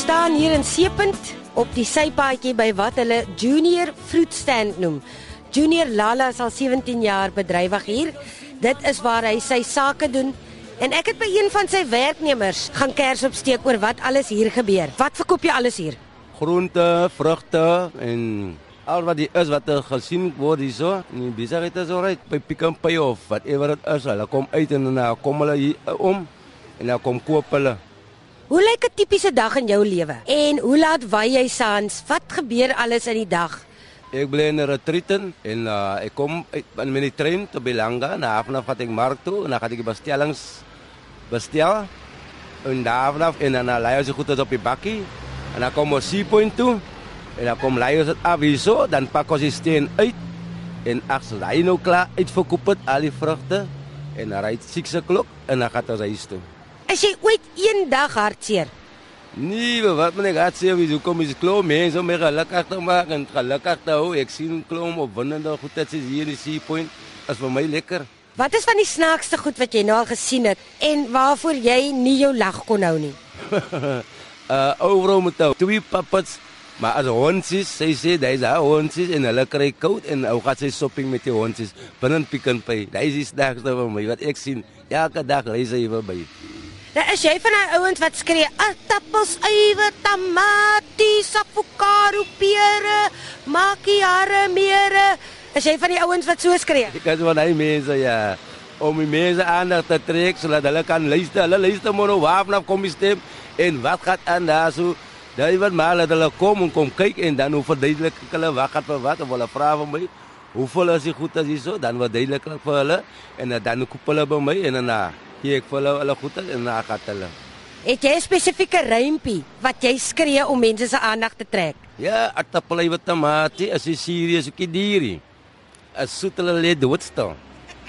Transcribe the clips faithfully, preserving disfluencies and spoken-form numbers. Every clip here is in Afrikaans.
staan hier in Seepunt op die sypaadjie by wat hulle Junior Fruit Stand noem. Junior Lala is al sewentien jaar bedrywig hier. Dit is waar hy sy sake doen. En ek het by een van sy werknemers gaan kers opsteek oor wat alles hier gebeur. Wat verkoop jy alles hier? Groente, vrugte en al wat die is wat er gesien word hier so. En die besigheid is alright. By Pick n Pay of whatever het is. Hulle kom uit en dan kom hulle hier om en dan kom koop hulle. Hoe lyk 'n tipiese dag in jou lewe? En hoe laat waai jy saans? Wat gebeur alles in die dag? Ek bly in 'n retreat en uh, ek kom uit met die trein tot Belanga. Na vanaf vat ek mark toe en dan gaan ek die bestellings bestel. En daar vanaf en dan lei ons goed op die bakkie. En dan kom ons Seapoint toe. En dan kom lei ons het af hier so. Dan pak ons die steen uit. En as hy nou klaar uitverkoop het, al die vrugte. En dan ry six o'clock en dan gaan ons huis toe. Is jy ooit een dag hartseer? Nee, wat moet ek hartseer wees? Hoe kom jy klou mense om my gelukkig te maak en gelukkig te hou? Ek sien klou opwindende goed dat sy hier in die Seapoint. Is vir my lekker. Wat is van die snaakste goed wat jy nou al gesien het en waarvoor jy nie jou lag kon hou nie? uh, overal moet hou. Twee puppets, maar as hondsies, sy sê, daar is haar hondsies en hulle kry koud en ou gaat sy shopping met die hondsies binnen Pick n Pay. Daar is die snaakste van my, wat ek sien. Elke dag lees hy vir my. Nou is jy van die ouens wat skree, aardappels, uiwe, tamaties, avokado, pere, makiare, mere. Is jy van die ouens wat so skree? Ek is van die mense, ja. Om die mense aandag te trek, sodat hulle kan luister. Hulle luister maar nou waar vanaf kom die stem en wat gaat aan daar so. Daar wat maar dat hulle kom en kom kyk en dan hoe verduidelik ek hulle wat gaat vir wat. Of hulle vra van my, hoeveel is die goed as die so, dan verduidelik ek vir hulle. En dan koop hulle by my en dan gee ek vir hulle hulle goed en dan gaat hulle. Het jy 'n spesifieke rympie wat jy skree om mense se aandag te trek? Ja, aardappel, uiwe, tamatie, as jy serieus ook die dierie. As soet hulle lê doodstil.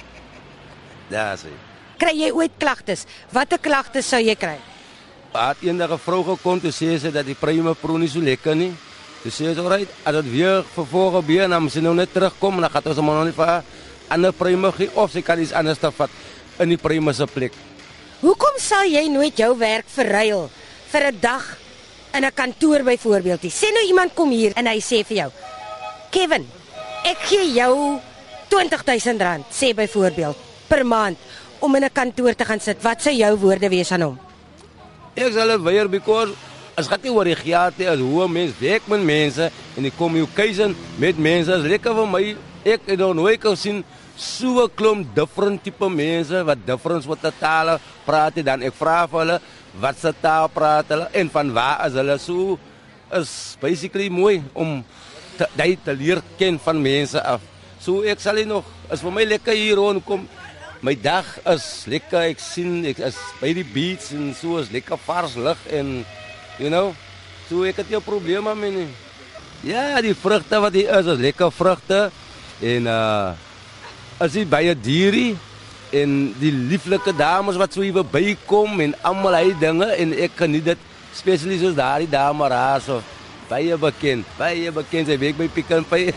Daar sê. Kry jy ooit klagtes? Watter klagtes sou jy kry? Het eendag 'n vrou gekom toe sê sy dat die prime pro nie so lekker nie. Toe sê sy, alright, as dit weer vervolg gebeur, dan moet sy nou net terugkom, dan gaan ons hom nog nie vir 'n ander prime gee of sy kan iets anders te vat in die prime se plek. Hoekom sal jy nooit jou werk verruil vir 'n dag in 'n kantoor byvoorbeeld? Sê nou iemand kom hier en hy sê vir jou, Kevin, ek gee jou twintig duisend rand, sê byvoorbeeld, per maand om in 'n kantoor te gaan sit. Wat sou jou woorde wees aan hom? Ek sal dit weier because as gaat nie oor die geld nie, as hoe 'n mens werk met mense en die communication met mense is lekker vir my. Ek het nog nooit gesien so 'n klomp different tipe mense wat different wat tale praat dan ek vra vir hulle wat se taal praat hulle en van waar is hulle. So is basically mooi om te, te leer ken van mense af. So ek sal nog, is vir my lekker hier rondkom. My dag is lekker, ek sien, ek is by die beach en so is lekker vars lig en, you know, so ek het nie probleme mee nie. Ja, die vrugte wat hier is, is lekker vrugte en uh, as jy by 'n dierie en die lieflike dames wat so hier bykom en almal hy dinge en ek geniet dit, spesialis soos daardie dame daar so, baie bekend, baie bekend, sy werk by Pick n Pay.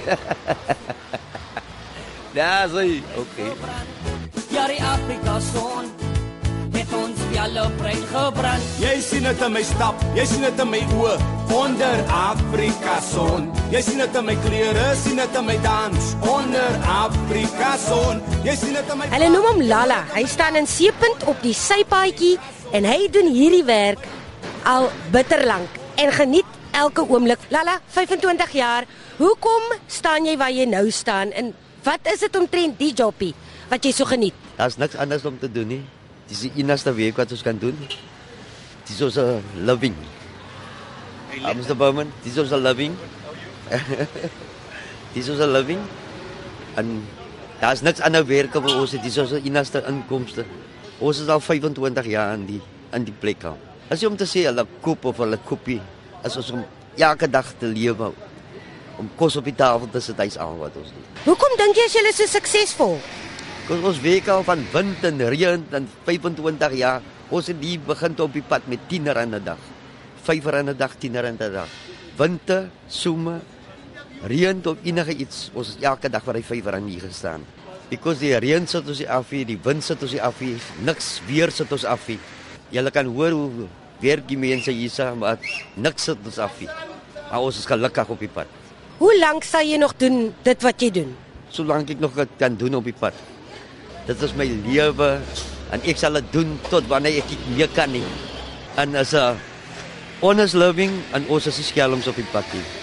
Daar sê, okay. Ja, die Afrika son het ons alle brein gebrand. Jy sien dit in my stap, jy sien dit in my oë, onder Afrika son. Jy sien dit in my klere, sien dit in my dans, onder Afrika son. Jy sien dit in my. Hulle noem hom Lala. Hy staan in Seepunt op die sypaadjie en hy doen hierdie werk al bitter lank en geniet elke oomblik. Lala, vyfentwintig jaar. Hoekom staan jy waar jy nou staan en wat is dit omtrent die jobbie wat jy so geniet? Daar's niks anders om te doen nie. Dis die enigste werk wat ons kan doen. Dis ons a living. Hey, Mister Bowman, dis ons a living. Dis ons a living. En daar's niks ander werk vir ons. Dis ons enigste inkomste. Ons is al vyfentwintig jaar in die in die plek al. As jy om te sê hulle koop of hulle koopie, is ons om elke dag te lewe. Om kos op die tafel te sit, hy's al wat ons doen. Hoekom dink jy as julle so suksesvol? Ons ons werk al van wind en reën en vyfentwintig jaar. Ons het hier begin op die pad met tien rand 'n dag. vyf rand 'n dag, tien rand 'n dag. Winter, somer, reën tot enige iets. Ons is elke dag vir hy vyf rand hier gestaan. Because die reën sit ons af hier, die wind sit ons af hier, niks weer sit ons af hier. Julle kan hoor hoe werk die mense hier, maar niks sit ons af nie. Maar ons is gelukkig op die pad. Hoe lank sal jy nog doen dit wat jy doen? Solank ek nog dit kan doen op die pad. Dit is my lewe en ek sal dit doen tot wanneer ek nie meer kan nie. En as 'n honest living en ons is die skelms op die pad nie.